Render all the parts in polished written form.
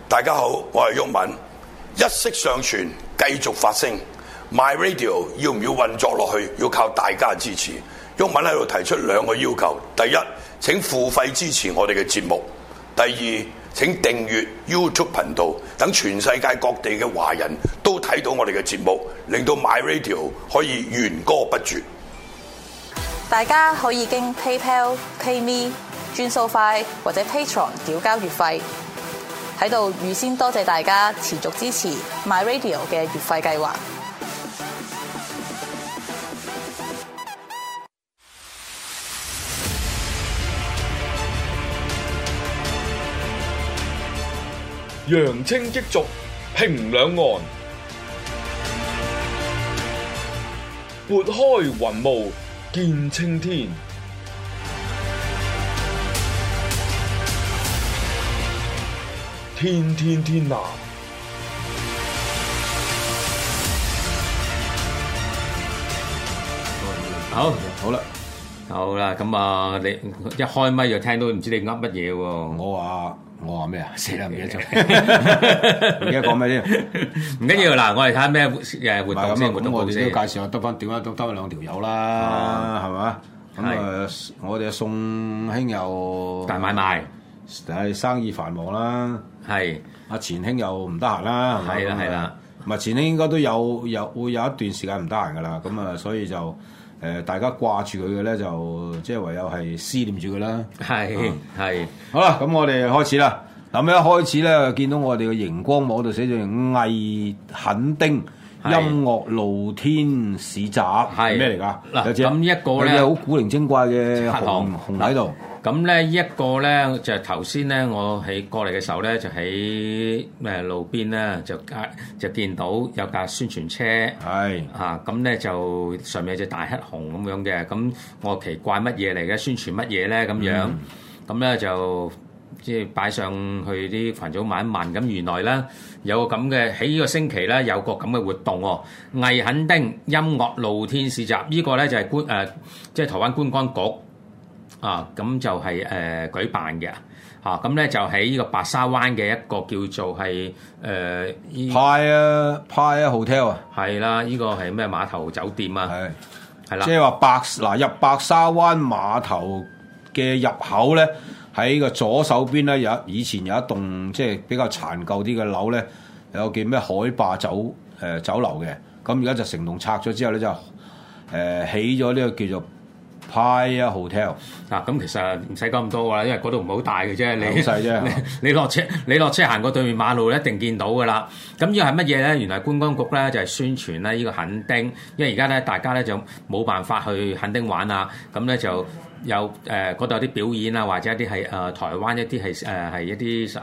大家好，我係毓民，一息尚存，繼續發聲。My Radio 要唔要運作落去？要靠大家支持。毓民喺度提出兩個要求：第一，請付費支持我哋嘅節目；第二，請訂閱 YouTube 頻道，等全世界各地嘅華人都睇到我哋嘅節目，令到 My Radio 可以源歌不絕。 大家可以經 PayPal、PayMe、轉數快或者 Patreon 繳交月費。喺度預先多謝大家持續支持 My Radio 嘅月費計劃。 揚清激濁，平兩岸，撥開雲霧見青天。天天天藍， 好啦，咁啊，你一開咪就聽到唔知你噏乜嘢喎？ 我話咩啊？死啦，唔記得咗，而家講咩添？ 唔緊要嗱，我哋睇下咩活動先。 咁我哋都介紹下，得翻兩條友啦，係嘛？咁我哋宋兄又大買賣， 但係生意繁忙啦。係阿錢兄又唔得閒啦，係啦。唔係錢兄應該都會有一段時間唔得閒噶啦。咁啊，所以就大家掛住佢嘅咧，就即係唯有係思念住佢啦。係好啦，咁我哋開始啦。咁一開始咧，見到我哋嘅熒光幕度寫住藝墾丁音樂露天市集，係咩嚟㗎？嗱， 咁一個咧好古靈精怪嘅紅喺度。 咁咧一個咧就係頭先咧，我喺過嚟嘅時候咧，就喺路邊咧就見到有架宣傳車，係咁咧就上面有隻大黑熊咁樣嘅。咁我奇怪乜嘢嚟嘅？宣傳乜嘢咧？咁樣咁咧就即係擺上去啲群組問一問。咁原來咧有個咁嘅喺呢個星期咧有個咁嘅活動喎，藝墾丁音樂露天市集。呢個咧就係即係台灣觀光局。咁就係舉辦嘅咁咧就喺呢個白沙灣嘅一個叫做係 Paya Hotel 啊， 係啦，呢個係咩碼頭酒店啊？係啦， 即係話入白沙灣碼頭嘅入口咧，喺個左手邊咧以前有一棟即係比較殘舊啲嘅樓咧，有個叫咩海霸酒樓嘅，咁而家就成棟拆咗之後咧就起咗呢個叫做Paya Hotel 咁其實唔使講咁多㗎啦，因為嗰度唔係好大嘅啫，你好細啫。 你落車行過對面馬路一定見到㗎啦。咁呢個係乜嘢咧？原來觀光局咧就係宣傳咧呢個墾丁，因為而家咧大家咧就冇辦法去墾丁玩啊，咁咧就有嗰度有啲表演啊，或者一啲係台灣一啲係一啲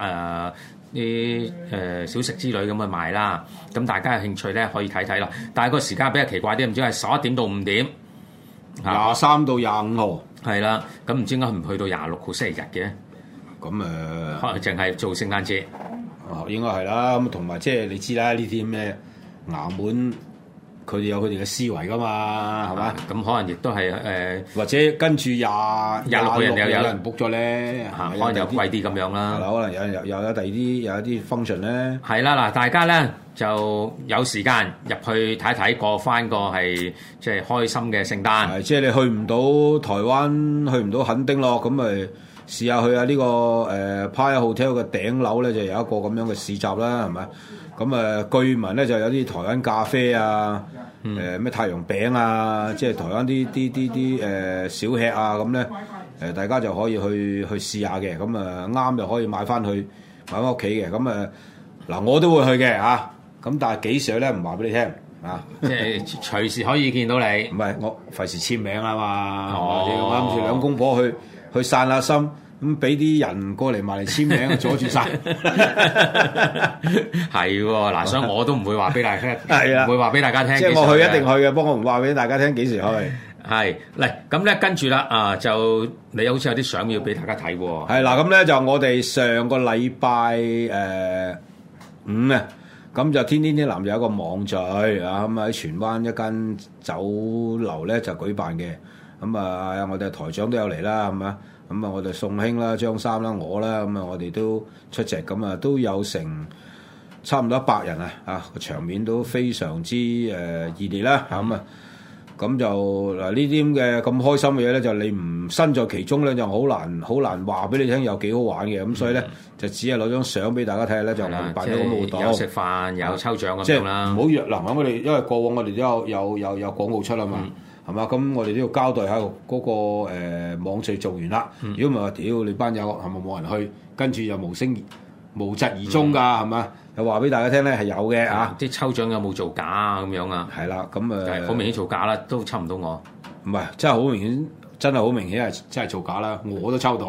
啲小食之類咁去賣啦。咁大家有興趣咧可以睇睇啦。但係個時間比較奇怪啲，唔知係11點到5點。 23到25號係啦，咁唔知點解唔去到26號星期日嘅？ 咁可能淨係做聖誕節。 應該係啦。咁同埋即係你知啦，呢啲咩衙門佢哋有佢哋嘅思維噶嘛，係嘛？ 咁可能亦都係或者跟住26號人有人 book 咗咧， 可能有貴啲咁樣啦。 可能有第二啲有一啲 function 咧。 係啦，嗱，大家咧就有時間入去睇睇，過翻個係即係開心嘅聖誕。 即係你去唔到台灣，去唔到墾丁咯，咁咪試下去下呢個Paya Hotel 嘅頂樓咧，就有一個咁樣嘅市集啦，係咪？咁據聞咧就有啲台灣咖啡啊，咩太陽餅啊，即係台灣啲小吃啊，咁咧大家就可以去試下嘅，咁啱就可以買翻屋企嘅，咁嗱我都會去嘅嚇，咁但係幾時去咧唔話俾你聽啊， 即係隨時可以見到你。 唔係我費事簽名啊嘛，我諗住兩公婆去散下心。咁俾啲人過嚟埋嚟簽名，阻住晒。 係喎，嗱，所以我都唔會話俾大家聽，唔會話俾大家聽。 即係我去一定去嘅，不過我唔話俾大家聽幾時去。 係嚟咁咧，跟住啦就你好似有啲相要俾大家睇喎。 係嗱，咁咧就我哋上個禮拜5啊，咁就天天天藍有一個網聚啊，咁喺荃灣一間酒樓咧就舉辦嘅。 咁啊，我哋台長都有嚟啦，係嘛？咁啊，我哋宋兄啦、張三啦、我啦，咁啊，我哋都出席，咁啊，都有成差唔多100人啊，個場面都非常之熱烈啦，咁啊，咁就嗱呢啲咁嘅咁開心嘅嘢咧，就你唔身在其中咧，就好難話俾你聽有幾好玩嘅，咁所以咧就只係攞張相俾大家睇下咧，就我哋辦咗咁嘅活動， 有食飯有抽獎咁樣啦。 唔好約嗱，我哋因為過往我哋都有廣告出啊嘛。係嘛？咁我哋都要交代下嗰個網序做完啦。如果唔係話，屌你班友係咪冇人去？跟住又無疾而終㗎，係嘛？又話俾大家聽咧係有嘅啊！ 啲抽獎有冇造假啊？咁樣啊？ 係啦，咁好明顯造假啦，都抽唔到我。 唔係，真係好明顯，真係好明顯係真係造假啦！我都抽到。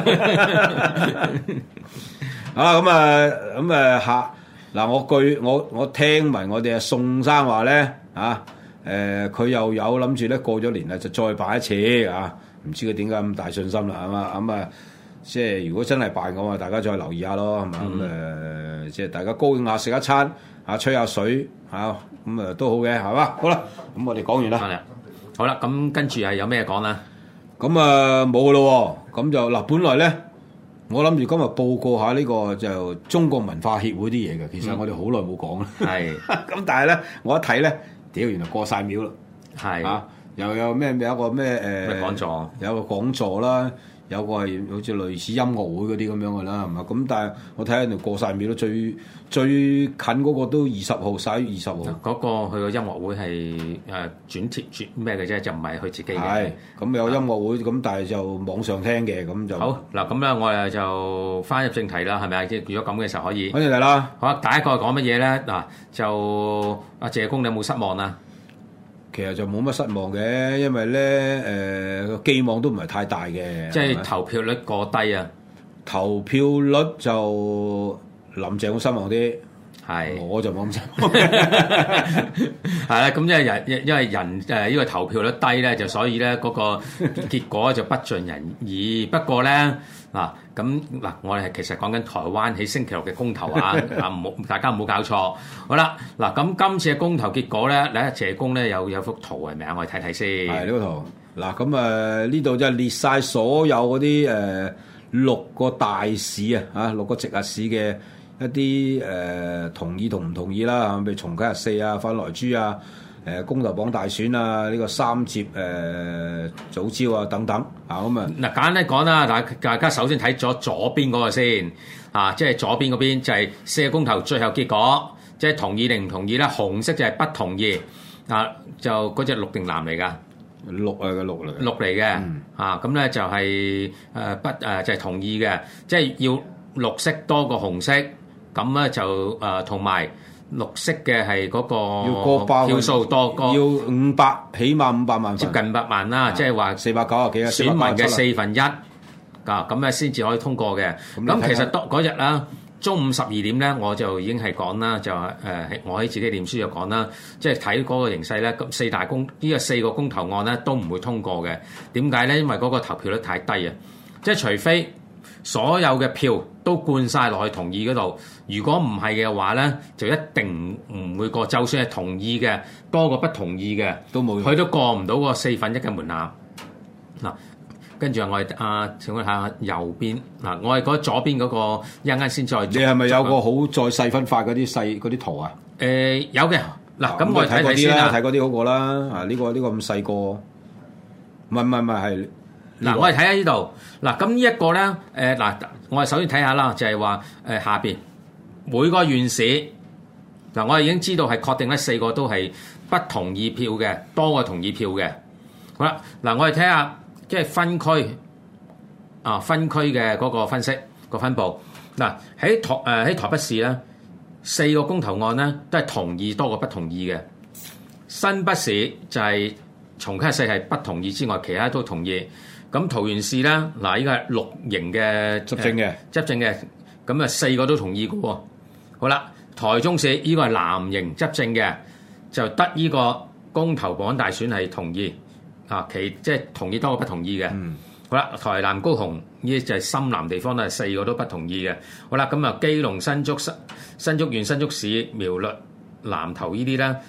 啊咁嗱，我聽聞我哋宋生話咧啊。佢又有諗住咧過咗年啦，就再辦一次啊！唔知佢點解咁大信心啦，係嘛？咁啊，即係如果真係辦嘅話，大家再留意下咯，係嘛？咁即係大家高興下食一餐啊，吹下水啊，咁都好嘅，係嘛？好啦，咁我哋講完啦。 好啦，咁跟住係有咩講啦？ 咁冇嘅咯喎，咁就嗱，本來咧我諗住今日報告下呢個就中國文化協會啲嘢嘅，其實我哋好耐冇講啦。係，咁但係咧，我一睇咧。屌，原來過晒廟啦！係啊，又有咩有一個咩講座， 有個講座啦，有個係好似類似音樂會嗰啲咁樣嘅啦，係嘛？咁但係我睇下人哋過晒廟咯，最近嗰個都20號，11月20號。嗰個佢個音樂會係轉咩嘅啫，就唔係佢自己嘅。 係咁有音樂會，咁但係就網上聽嘅，咁就好嗱。咁咧我哋就翻入正題啦，係咪啊？即係如果咁嘅時候可以。 翻正題啦。 好啊，第一個講乜嘢咧？嗱，就阿謝公，你有冇失望啊？ 其實就冇乜失望嘅，因為咧個寄望都唔係太大嘅。 即係投票率過低啊！ 投票率就林鄭好失望啲，係我就冇咁失望。 係啦，咁因為人呢個投票率低咧，就所以咧嗰個結果就不盡人意。不過咧我哋係其實講緊台灣喺星期六嘅公投啊，大家唔好搞錯。好啦，嗱咁今次嘅公投結果咧，嚟謝公咧有幅圖係咪啊？我哋睇睇先。係呢個圖。嗱咁呢度就列晒所有嗰啲6個大市6個直轄市嘅一啲同意同唔同意啦，譬如重啟核4啊、反萊豬啊、公投綁大選啊、呢個3接早朝啊等等咁啊。嗱， 簡單講啦，大家首先睇咗左邊嗰個先即係左邊嗰邊就係4個公投最後結果，即係同意定唔同意啦。紅色就係不同意就嗰隻綠定藍嚟㗎。 綠嚟嘅咁咧就係就係同意嘅，即係要綠色多過紅色，咁咧就同埋綠色嘅係嗰個票數多過， 要500起碼500萬， 接近500萬啦，即係話 490幾選民嘅1/4咁咧先至可以通過嘅。咁其實嗰日啦。中午12點咧，我就已經係講啦，就我喺自己念書就講啦，即係睇嗰個形勢咧，咁4個公投案咧都唔會通過嘅。點解咧？因為嗰個投票率太低啊！即係除非所有嘅票都灌晒落去同意嗰度，如果唔係嘅話咧，就一定唔會過。就算係同意嘅多過不同意嘅，都冇，佢都過唔到個1/4嘅門檻嗱。跟住我哋請問下右邊嗱，我係覺得左邊嗰個一陣間先再。你係咪有個好再細分化嗰啲圖啊？ 有嘅嗱，咁我哋睇睇先啦， 睇嗰啲嗰個啦。呢個咁細個，唔係嗱，我哋睇下呢度嗱，咁呢一個咧我哋首先睇下啦，就係話下邊每個縣市嗱，我哋已經知道係確定咧4個都係不同意票嘅，多過同意票嘅。好啦，嗱我哋睇下。即係分區嘅嗰個分析個分佈嗱，喺台北市咧4個公投案咧都係同意多過不同意嘅。新北市就係重啟核4係不同意之外，其他都同意。咁桃園市咧嗱，依個係綠營嘅執政嘅，咁4個都同意嘅喎。好啦，台中市依個係藍營執政嘅，就得依個公投綁大選係同意。即係同意多過不同意嘅。好啦，台南高雄呢就係深藍地方咧，4個都不同意嘅。好啦，咁基隆新竹縣、新竹市苗栗南投呢啲咧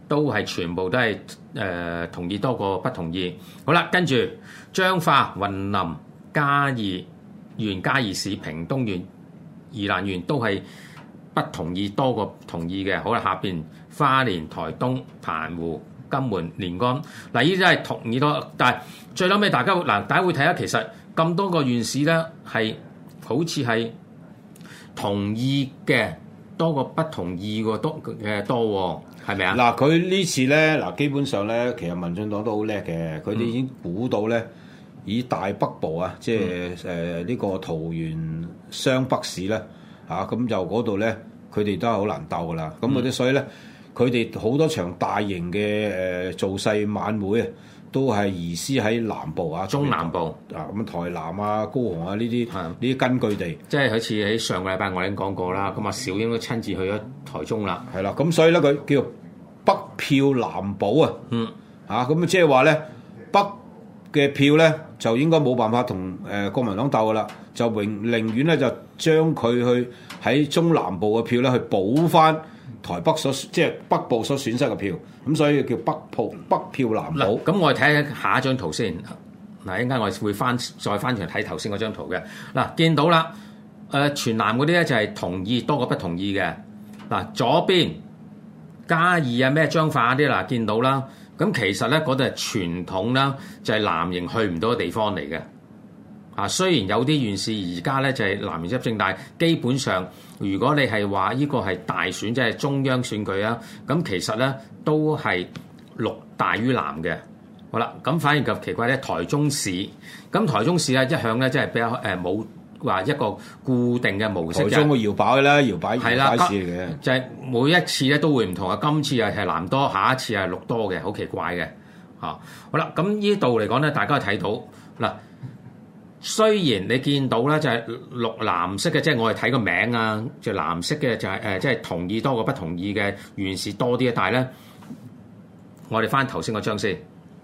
都係全部都係同意多過不同意。好啦，跟住彰化、雲林、嘉義縣、嘉義市、屏東縣、宜蘭縣都係不同意多過同意嘅。好啦，下邊花蓮、台東、澎湖、金門、連江，嗱，呢啲都係同意多，但係最後尾大家會睇下，其實咁多個縣市咧係好似係同意嘅多過不同意嘅多喎，係咪啊？ 嗱，佢呢次咧，嗱，基本上咧，其實民進黨都好叻嘅，佢哋已經估到咧，以大北部啊，即係呢個桃園雙北市咧，咁就嗰度咧，佢哋都係好難鬥噶啦。咁嗰啲所以咧，佢哋好多場大型嘅造勢晚會啊，都係移師喺南部啊， 中南部咁台南啊、高雄啊呢啲根據地， 即係好似喺上個禮拜我已經講過啦。咁啊，小英都親自去咗台中啦， 係啦。咁所以咧，佢叫北票南保啊，咁即係話咧，北嘅票咧就應該冇辦法同國民黨鬥噶啦，就寧願咧就將佢去喺中南部嘅票咧去補翻台北即係北部所損失嘅票，咁所以叫北票南保。 咁我哋睇下一張圖先。嗱，一陣間我會再翻轉睇頭先嗰張圖嘅。嗱，見到啦，全南嗰啲咧就係同意多過不同意嘅。嗱，左邊嘉義啊咩彰化啲嗱，見到啦。咁其實咧嗰度係傳統啦，就係藍營去唔到嘅地方嚟嘅。雖然有啲縣市而家咧就係藍營執政，但係基本上如果你係話呢個係大選，即係中央選舉啊，咁其實咧都係綠大於藍嘅。好啦，咁反而就奇怪咧，台中市咧一向咧即係比較冇話一個固定嘅模式。 台中個搖擺嘅啦，搖擺市嚟嘅， 就係每一次咧都會唔同啊。今次又係藍多，下一次係綠多嘅，好奇怪嘅。好啦，咁呢度嚟講咧，大家睇到嗱。雖然你見到咧就係綠藍色嘅，即係我哋睇個名啊，就藍色嘅就係即係同意多過不同意嘅縣市多啲，但係咧我哋翻頭先嗰張先。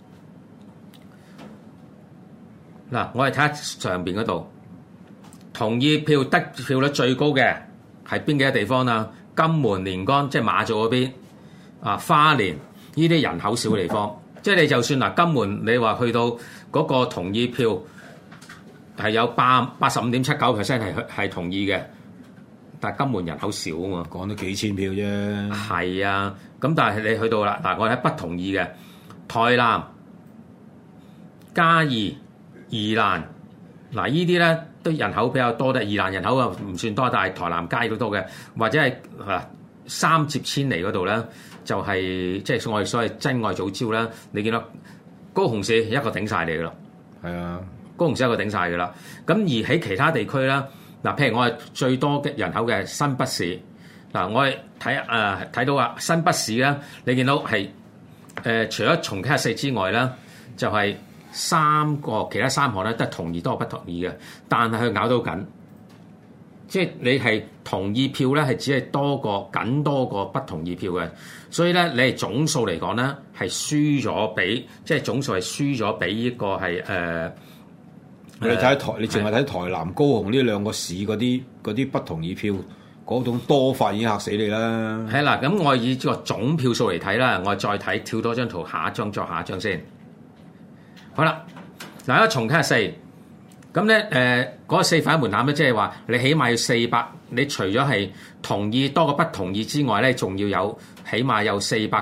嗱，我哋睇下上邊嗰度，同意票得票率最高嘅係邊幾個地方啊？金門、連江，即係馬祖嗰邊啊，花蓮呢啲人口少嘅地方，即係你就算嗱金門，你話去到嗰個同意票。係有85.79% 係同意嘅，但係金門人口少啊嘛， 講咗幾千票啫。 係啊，咁但係你去到啦，嗱我睇不同意嘅，台南、嘉義、宜蘭，嗱依啲咧都人口比較多啲，宜蘭人口啊唔算多，但係台南嘉義都多嘅，或者係三接千里嗰度咧，就係即係我哋所謂真愛藻礁啦。你見到高雄市一個頂晒嚟噶啦，係啊。高雄市一個頂晒嘅啦，咁而喺其他地區啦，嗱，譬如我係最多嘅人口嘅新北市，嗱，我係睇到啊，新北市啦，你見到係除咗重啟核四之外啦，就係其他三項咧都係同意多過不同意嘅，但係佢咬到緊，即係你係同意票咧係只係多過不同意票嘅，所以咧你係總數嚟講咧係輸咗俾，即係總數係輸咗俾呢個係你睇你淨係睇台南、高雄呢兩個市嗰啲不同意票嗰種多法已經嚇死你啦。 係啦，咁我以個總票數嚟睇啦，我再睇跳多張圖，下一張先。好啦，嗱，一重啟四，咁咧嗰個4份門檻咧，即係話你起碼要400，你除咗係同意多過不同意之外咧，仲要有起碼有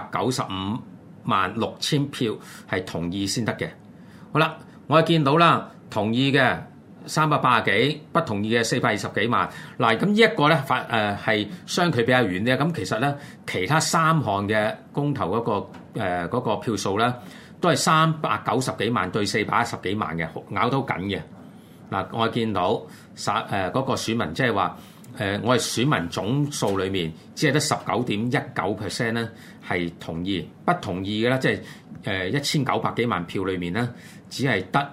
4956000票係同意先得嘅。好啦，我係見到啦。同意嘅380幾，不同意嘅420幾萬。嗱，咁呢一個咧係相距比較遠啲。咁其實咧，其他3項嘅公投嗰個票數咧，都係390幾萬對410幾萬嘅，咬到緊嘅。嗱，我見到嗰個選民，即係話我係選民總數裏面，只係得19.19% 咧係同意，不同意嘅咧，即係1900幾萬票裏面咧，只係得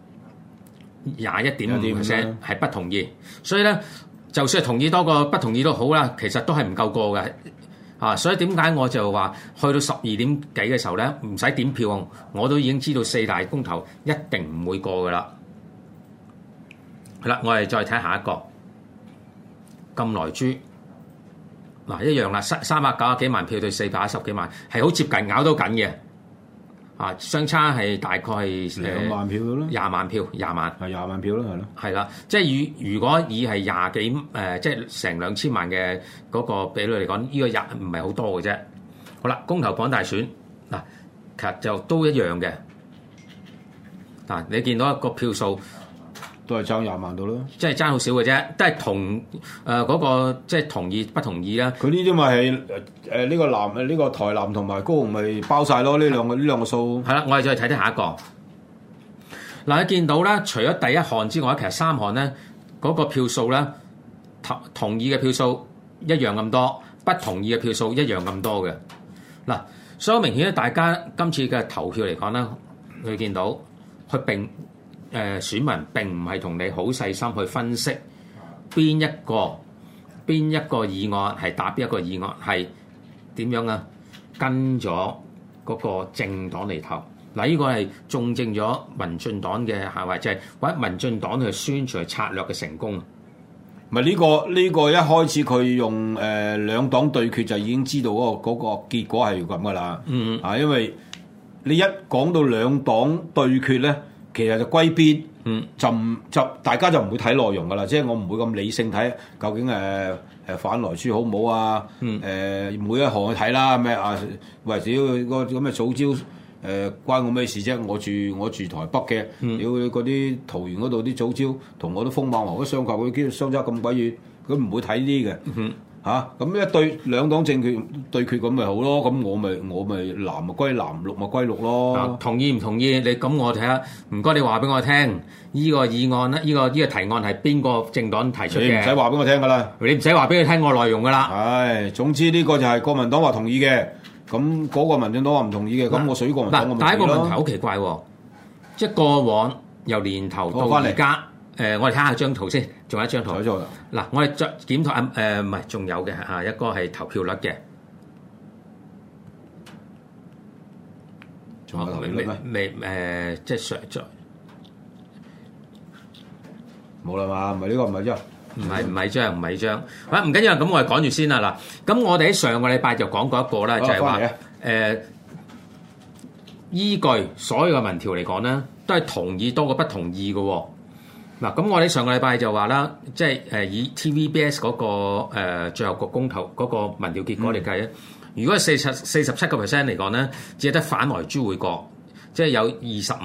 21.5% 係不同意，所以咧，就算係同意多過不同意都好啦，其實都係唔夠過嘅啊！所以點解我就話去到12點幾嘅時候咧，唔使點票，我都已經知道4大公投一定唔會過噶啦。好啦，我哋再睇下一個金萊豬嗱一樣啦，390幾萬票對410幾萬，係好接近咬到緊嘅。啊，相差係大概係 2萬票咯 ，20萬票，20萬係20萬票咯，係咯， 係啦，即係如果以係廿幾即係成2000萬嘅嗰個比率嚟講，呢個唔係好多嘅啫。好啦，公投綁大選嗱，其實就都一樣嘅。嗱，你見到一個票數都係爭20萬度咯， 即係爭好少嘅啫，都係同嗰個即係同意不同意啦。 佢呢啲咪係呢個台南同埋高雄咪包晒咯？呢兩個數係啦，我哋再睇睇下一個。嗱，你見到咧，除咗第一項之外，其實3項咧嗰個票數咧同意嘅票數一樣咁多，不同意嘅票數一樣咁多嘅。嗱，所以明顯咧，大家今次嘅投票嚟講咧，你見到佢選民並唔係同你好細心去分析邊一個議案係打邊一個議案係點樣啊？跟咗嗰個政黨嚟投嗱，呢個係重證咗民進黨嘅行為，就係或者民進黨去宣傳策略嘅成功。 咪呢個一開始佢用兩黨對決就已經知道嗰個結果係咁噶啦。因為你一講到兩黨對決咧，其實就歸邊，就大家就唔會睇內容噶啦，即係我唔會咁理性睇究竟反萊豬好唔好啊？每一項去睇啦，咩啊？喂，只要個咁嘅藻礁關我咩事啫？我住台北嘅，屌嗰啲桃園嗰度啲藻礁同我啲風馬牛都相隔，佢相差咁鬼遠，佢唔會睇呢啲嘅。咁一對兩黨政權對決咁咪好咯，咁我咪藍咪歸藍，綠咪歸綠咯。 同意唔同意？你咁我睇下，唔該你話俾我聽，呢個議案咧，呢個提案係邊個政黨提出嘅？ 你唔使話俾我聽噶啦， 你唔使話俾佢聽我內容噶啦。 係，總之呢個就係國民黨話同意嘅，咁嗰個民進黨話唔同意嘅，咁我屬於國民黨。 但係一個問題好奇怪喎，即係過往由年頭到而家。我哋睇下張圖先，仲有一張圖。嗱，我哋再檢討唔係，仲有嘅一個係投票率嘅。 仲有投票率咩？ 即係上咗冇啦嘛？唔係呢個，唔係張， 唔係張。唔緊要，咁我哋講住先啦。嗱，咁我哋喺上個禮拜就講過一個啦，就係話依據所有嘅民調嚟講咧，都係同意多過不同意嘅喎。嗱，咁我哋上個禮拜就話啦，即係以 TVBS 嗰個最後個公投嗰個民調結果嚟計咧，如果係47% 嚟講咧，只係得反萊豬會過，即係有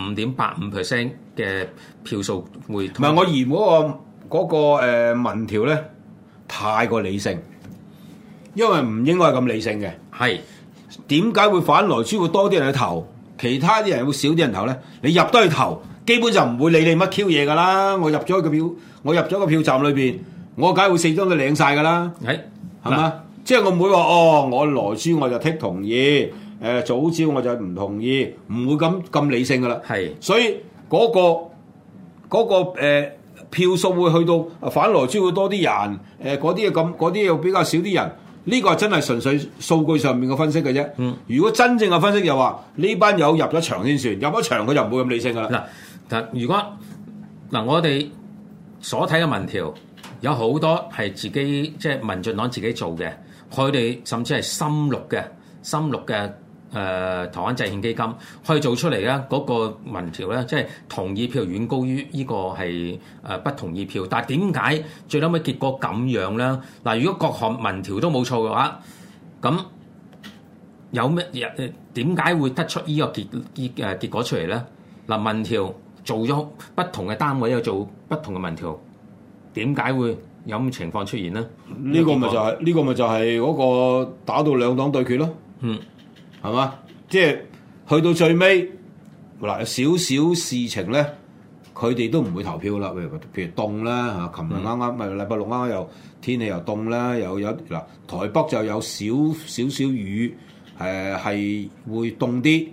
25.85% 嘅票數會。唔係， 我嫌嗰個民調咧太過理性，因為唔應該係咁理性嘅。係點解會反萊豬會多啲人去投，其他啲人會少啲人投咧？你入得去投，基本就唔會理你乜 Q 嘢噶啦，我入咗個票站裏邊，我梗係會4張都領晒噶啦，係嘛？即係我唔會話我萊豬我就剔同意，藻礁我就唔同意，唔會咁理性噶啦。係，所以嗰個票數會去到反萊豬會多啲人，嗰啲又比較少啲人。呢個係真係純粹數據上面嘅分析嘅啫。如果真正嘅分析又話呢班友入咗場先算，入咗場佢就唔會咁理性噶啦。 嗱，如果我哋所睇嘅民調有好多係自己即係民進黨自己做嘅，佢哋甚至係深綠嘅台灣制憲基金可以做出嚟咧，嗰個民調咧，即係同意票遠高於呢個係不同意票。但係點解最後尾結果咁樣咧？嗱，如果各項民調都冇錯嘅話，咁有咩點解會得出呢個結果出嚟咧？嗱，民調做咗不同嘅單位有做不同嘅民調，點解會有咁情況出現咧？ 呢個咪就係嗰個打到兩黨對決咯。係嘛？即係去到最尾嗱，少少事情咧，佢哋都唔會投票啦。譬如凍啦嚇，琴日啱啱咪禮拜六啱啱又天氣又凍啦，又有嗱台北就有少雨，係會凍啲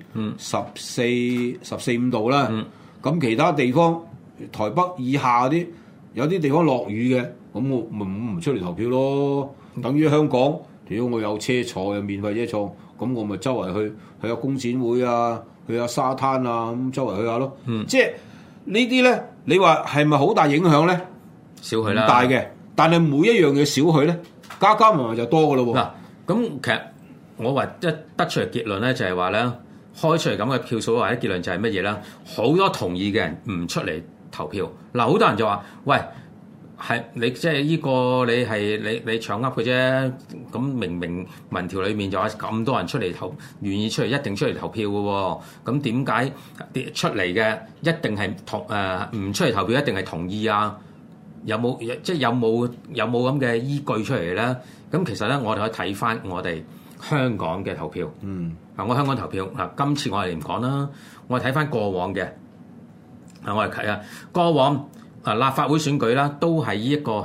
，14-15度啦。咁其他地方台北以下啲有啲地方落雨嘅，咁我唔出嚟投票咯。等於香港，如果我有車坐，有免費車坐。咁我咪周圍去下工展會啊，去下沙灘啊，咁周圍去下咯。即係呢啲咧，你話係咪好大影響咧？ 少去啦， 唔大嘅。但係每一樣嘢少去咧， 加埋就多噶咯喎。 嗱，咁其實我話一得出嚟結論咧，就係話咧，開出嚟咁嘅票數或者結論就係乜嘢咧？好多同意嘅人唔出嚟投票。嗱，好多人就話：喂，係你即係呢個你係你搶噏嘅啫。咁明明民調裏面就話咁多人出嚟投，願意出嚟一定出嚟投票嘅喎。咁點解出嚟嘅一定係唔出嚟投票一定係同意啊？有冇即係有冇咁嘅依據出嚟咧？咁其實咧，我哋可以睇翻我哋香港嘅投票。我香港投票嗱，今次我哋唔講啦，我哋睇翻過往嘅。我哋睇啊，過往立法會選舉啦，都係呢一個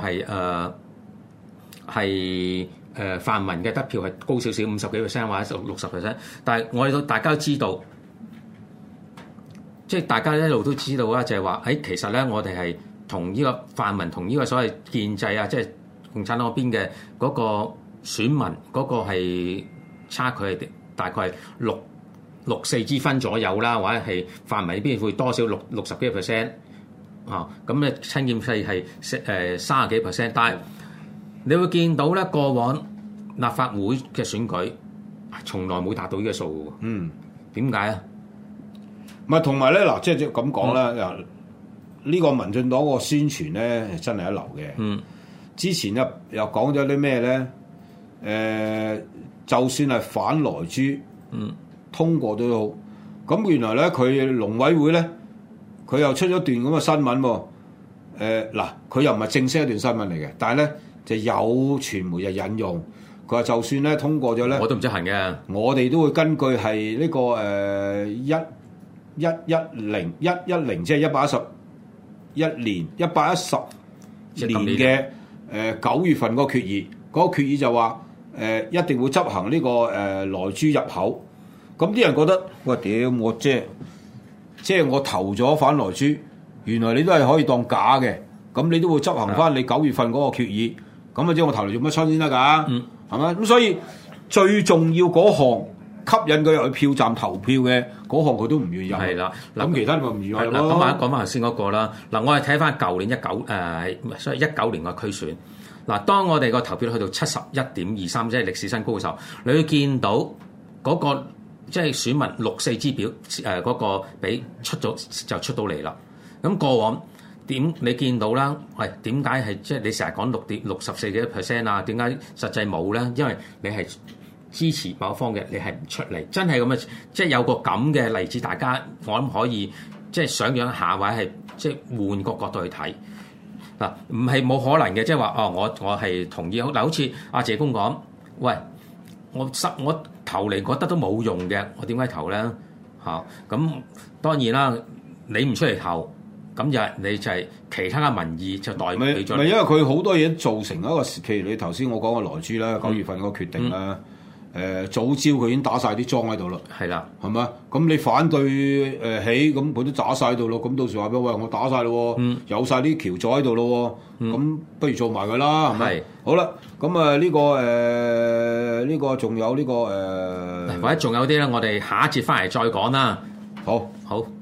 係泛民嘅得票係高少少50幾%或者60%，但係我哋大家都知道，即係大家一路都知道啦，就係話其實咧，我哋係同呢個泛民同呢個所謂建制啊，即係共產黨嗰邊嘅嗰個選民嗰個係差距係大概係6-4之分左右啦，或者係泛民呢邊會多少60幾%啊，咁咧親建制係30幾%，但係你會見到咧，過往立法會嘅選舉從來冇達到呢個數嘅。點解啊？ 唔係同埋咧嗱，即係咁講啦。呢個民進黨個宣傳咧真係一流嘅。之前又講咗啲咩咧？就算係反萊豬，通過都好。咁原來咧佢農委會咧，佢又出咗段咁嘅新聞喎。嗱，佢又唔係正式一段新聞嚟嘅，但係咧就有傳媒就引用，佢話就算咧通過咗咧， 我都唔執行嘅。我哋都會根據係呢個110即係111年嘅9月份嗰個決議，嗰個決議就話一定會執行呢個萊豬入口。咁啲人覺得，喂，屌我即係我投咗反萊豬，原來你都係可以當假嘅，咁你都會執行翻你9月份嗰個決議，咁即係我投嚟做乜春先得㗎？係咪？咁所以最重要嗰項吸引佢入去票站投票嘅嗰項，佢都唔願意入。係啦，咁其他咪唔願意入咯。 咁講翻頭先嗰個啦。嗱，我哋睇翻舊年19年嘅區選。嗱，當我哋個投票去到71.23，即係歷史新高嘅時候，你會見到嗰個即係選民6-4支表嗰個俾出咗就出到嚟啦。咁過往你見到啦？喂，點解係即係你成日講64幾%啊？點解實際冇咧？因為你係支持某一方嘅，你係唔出嚟，真係咁嘅，即係有個咁嘅例子，大家我諗可以即係想像一下，或者係即係換個角度去睇嗱，唔係冇可能嘅，即係話我係同意嗱，好似阿謝公講，喂，我投嚟覺得都冇用嘅，我點解投咧？咁當然啦，你唔出嚟投。咁你就係其他嘅民意就代表咗。唔係因為佢好多嘢造成一個，譬如你頭先我講嘅萊豬啦，9月份嗰個決定啦，早朝佢已經打晒啲莊喺度啦。係啦，係咪？咁你反對起，咁佢都打晒喺度咯。咁到時話俾我喂，我打晒咯，有晒啲橋座喺度咯。咁不如做埋佢啦，係咪？好啦，咁呢個仲有呢個或者仲有啲咧，我哋下一節翻嚟再講啦。 好。